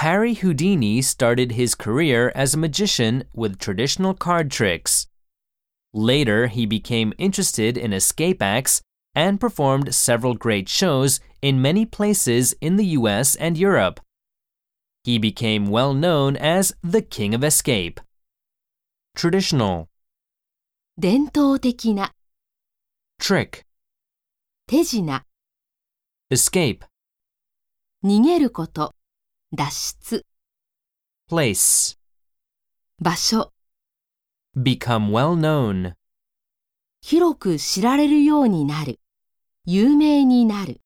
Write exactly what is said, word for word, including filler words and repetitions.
Harry Houdini started his career as a magician with traditional card tricks. Later, he became interested in escape acts and performed several great shows in many places in the U S and Europe. He became well known as the King of Escape. Traditional, 伝統的な、 trick, 手品、 escape, 逃げること、脱出、 place, 場所、 become well known. 広く知られるようになる、有名になる。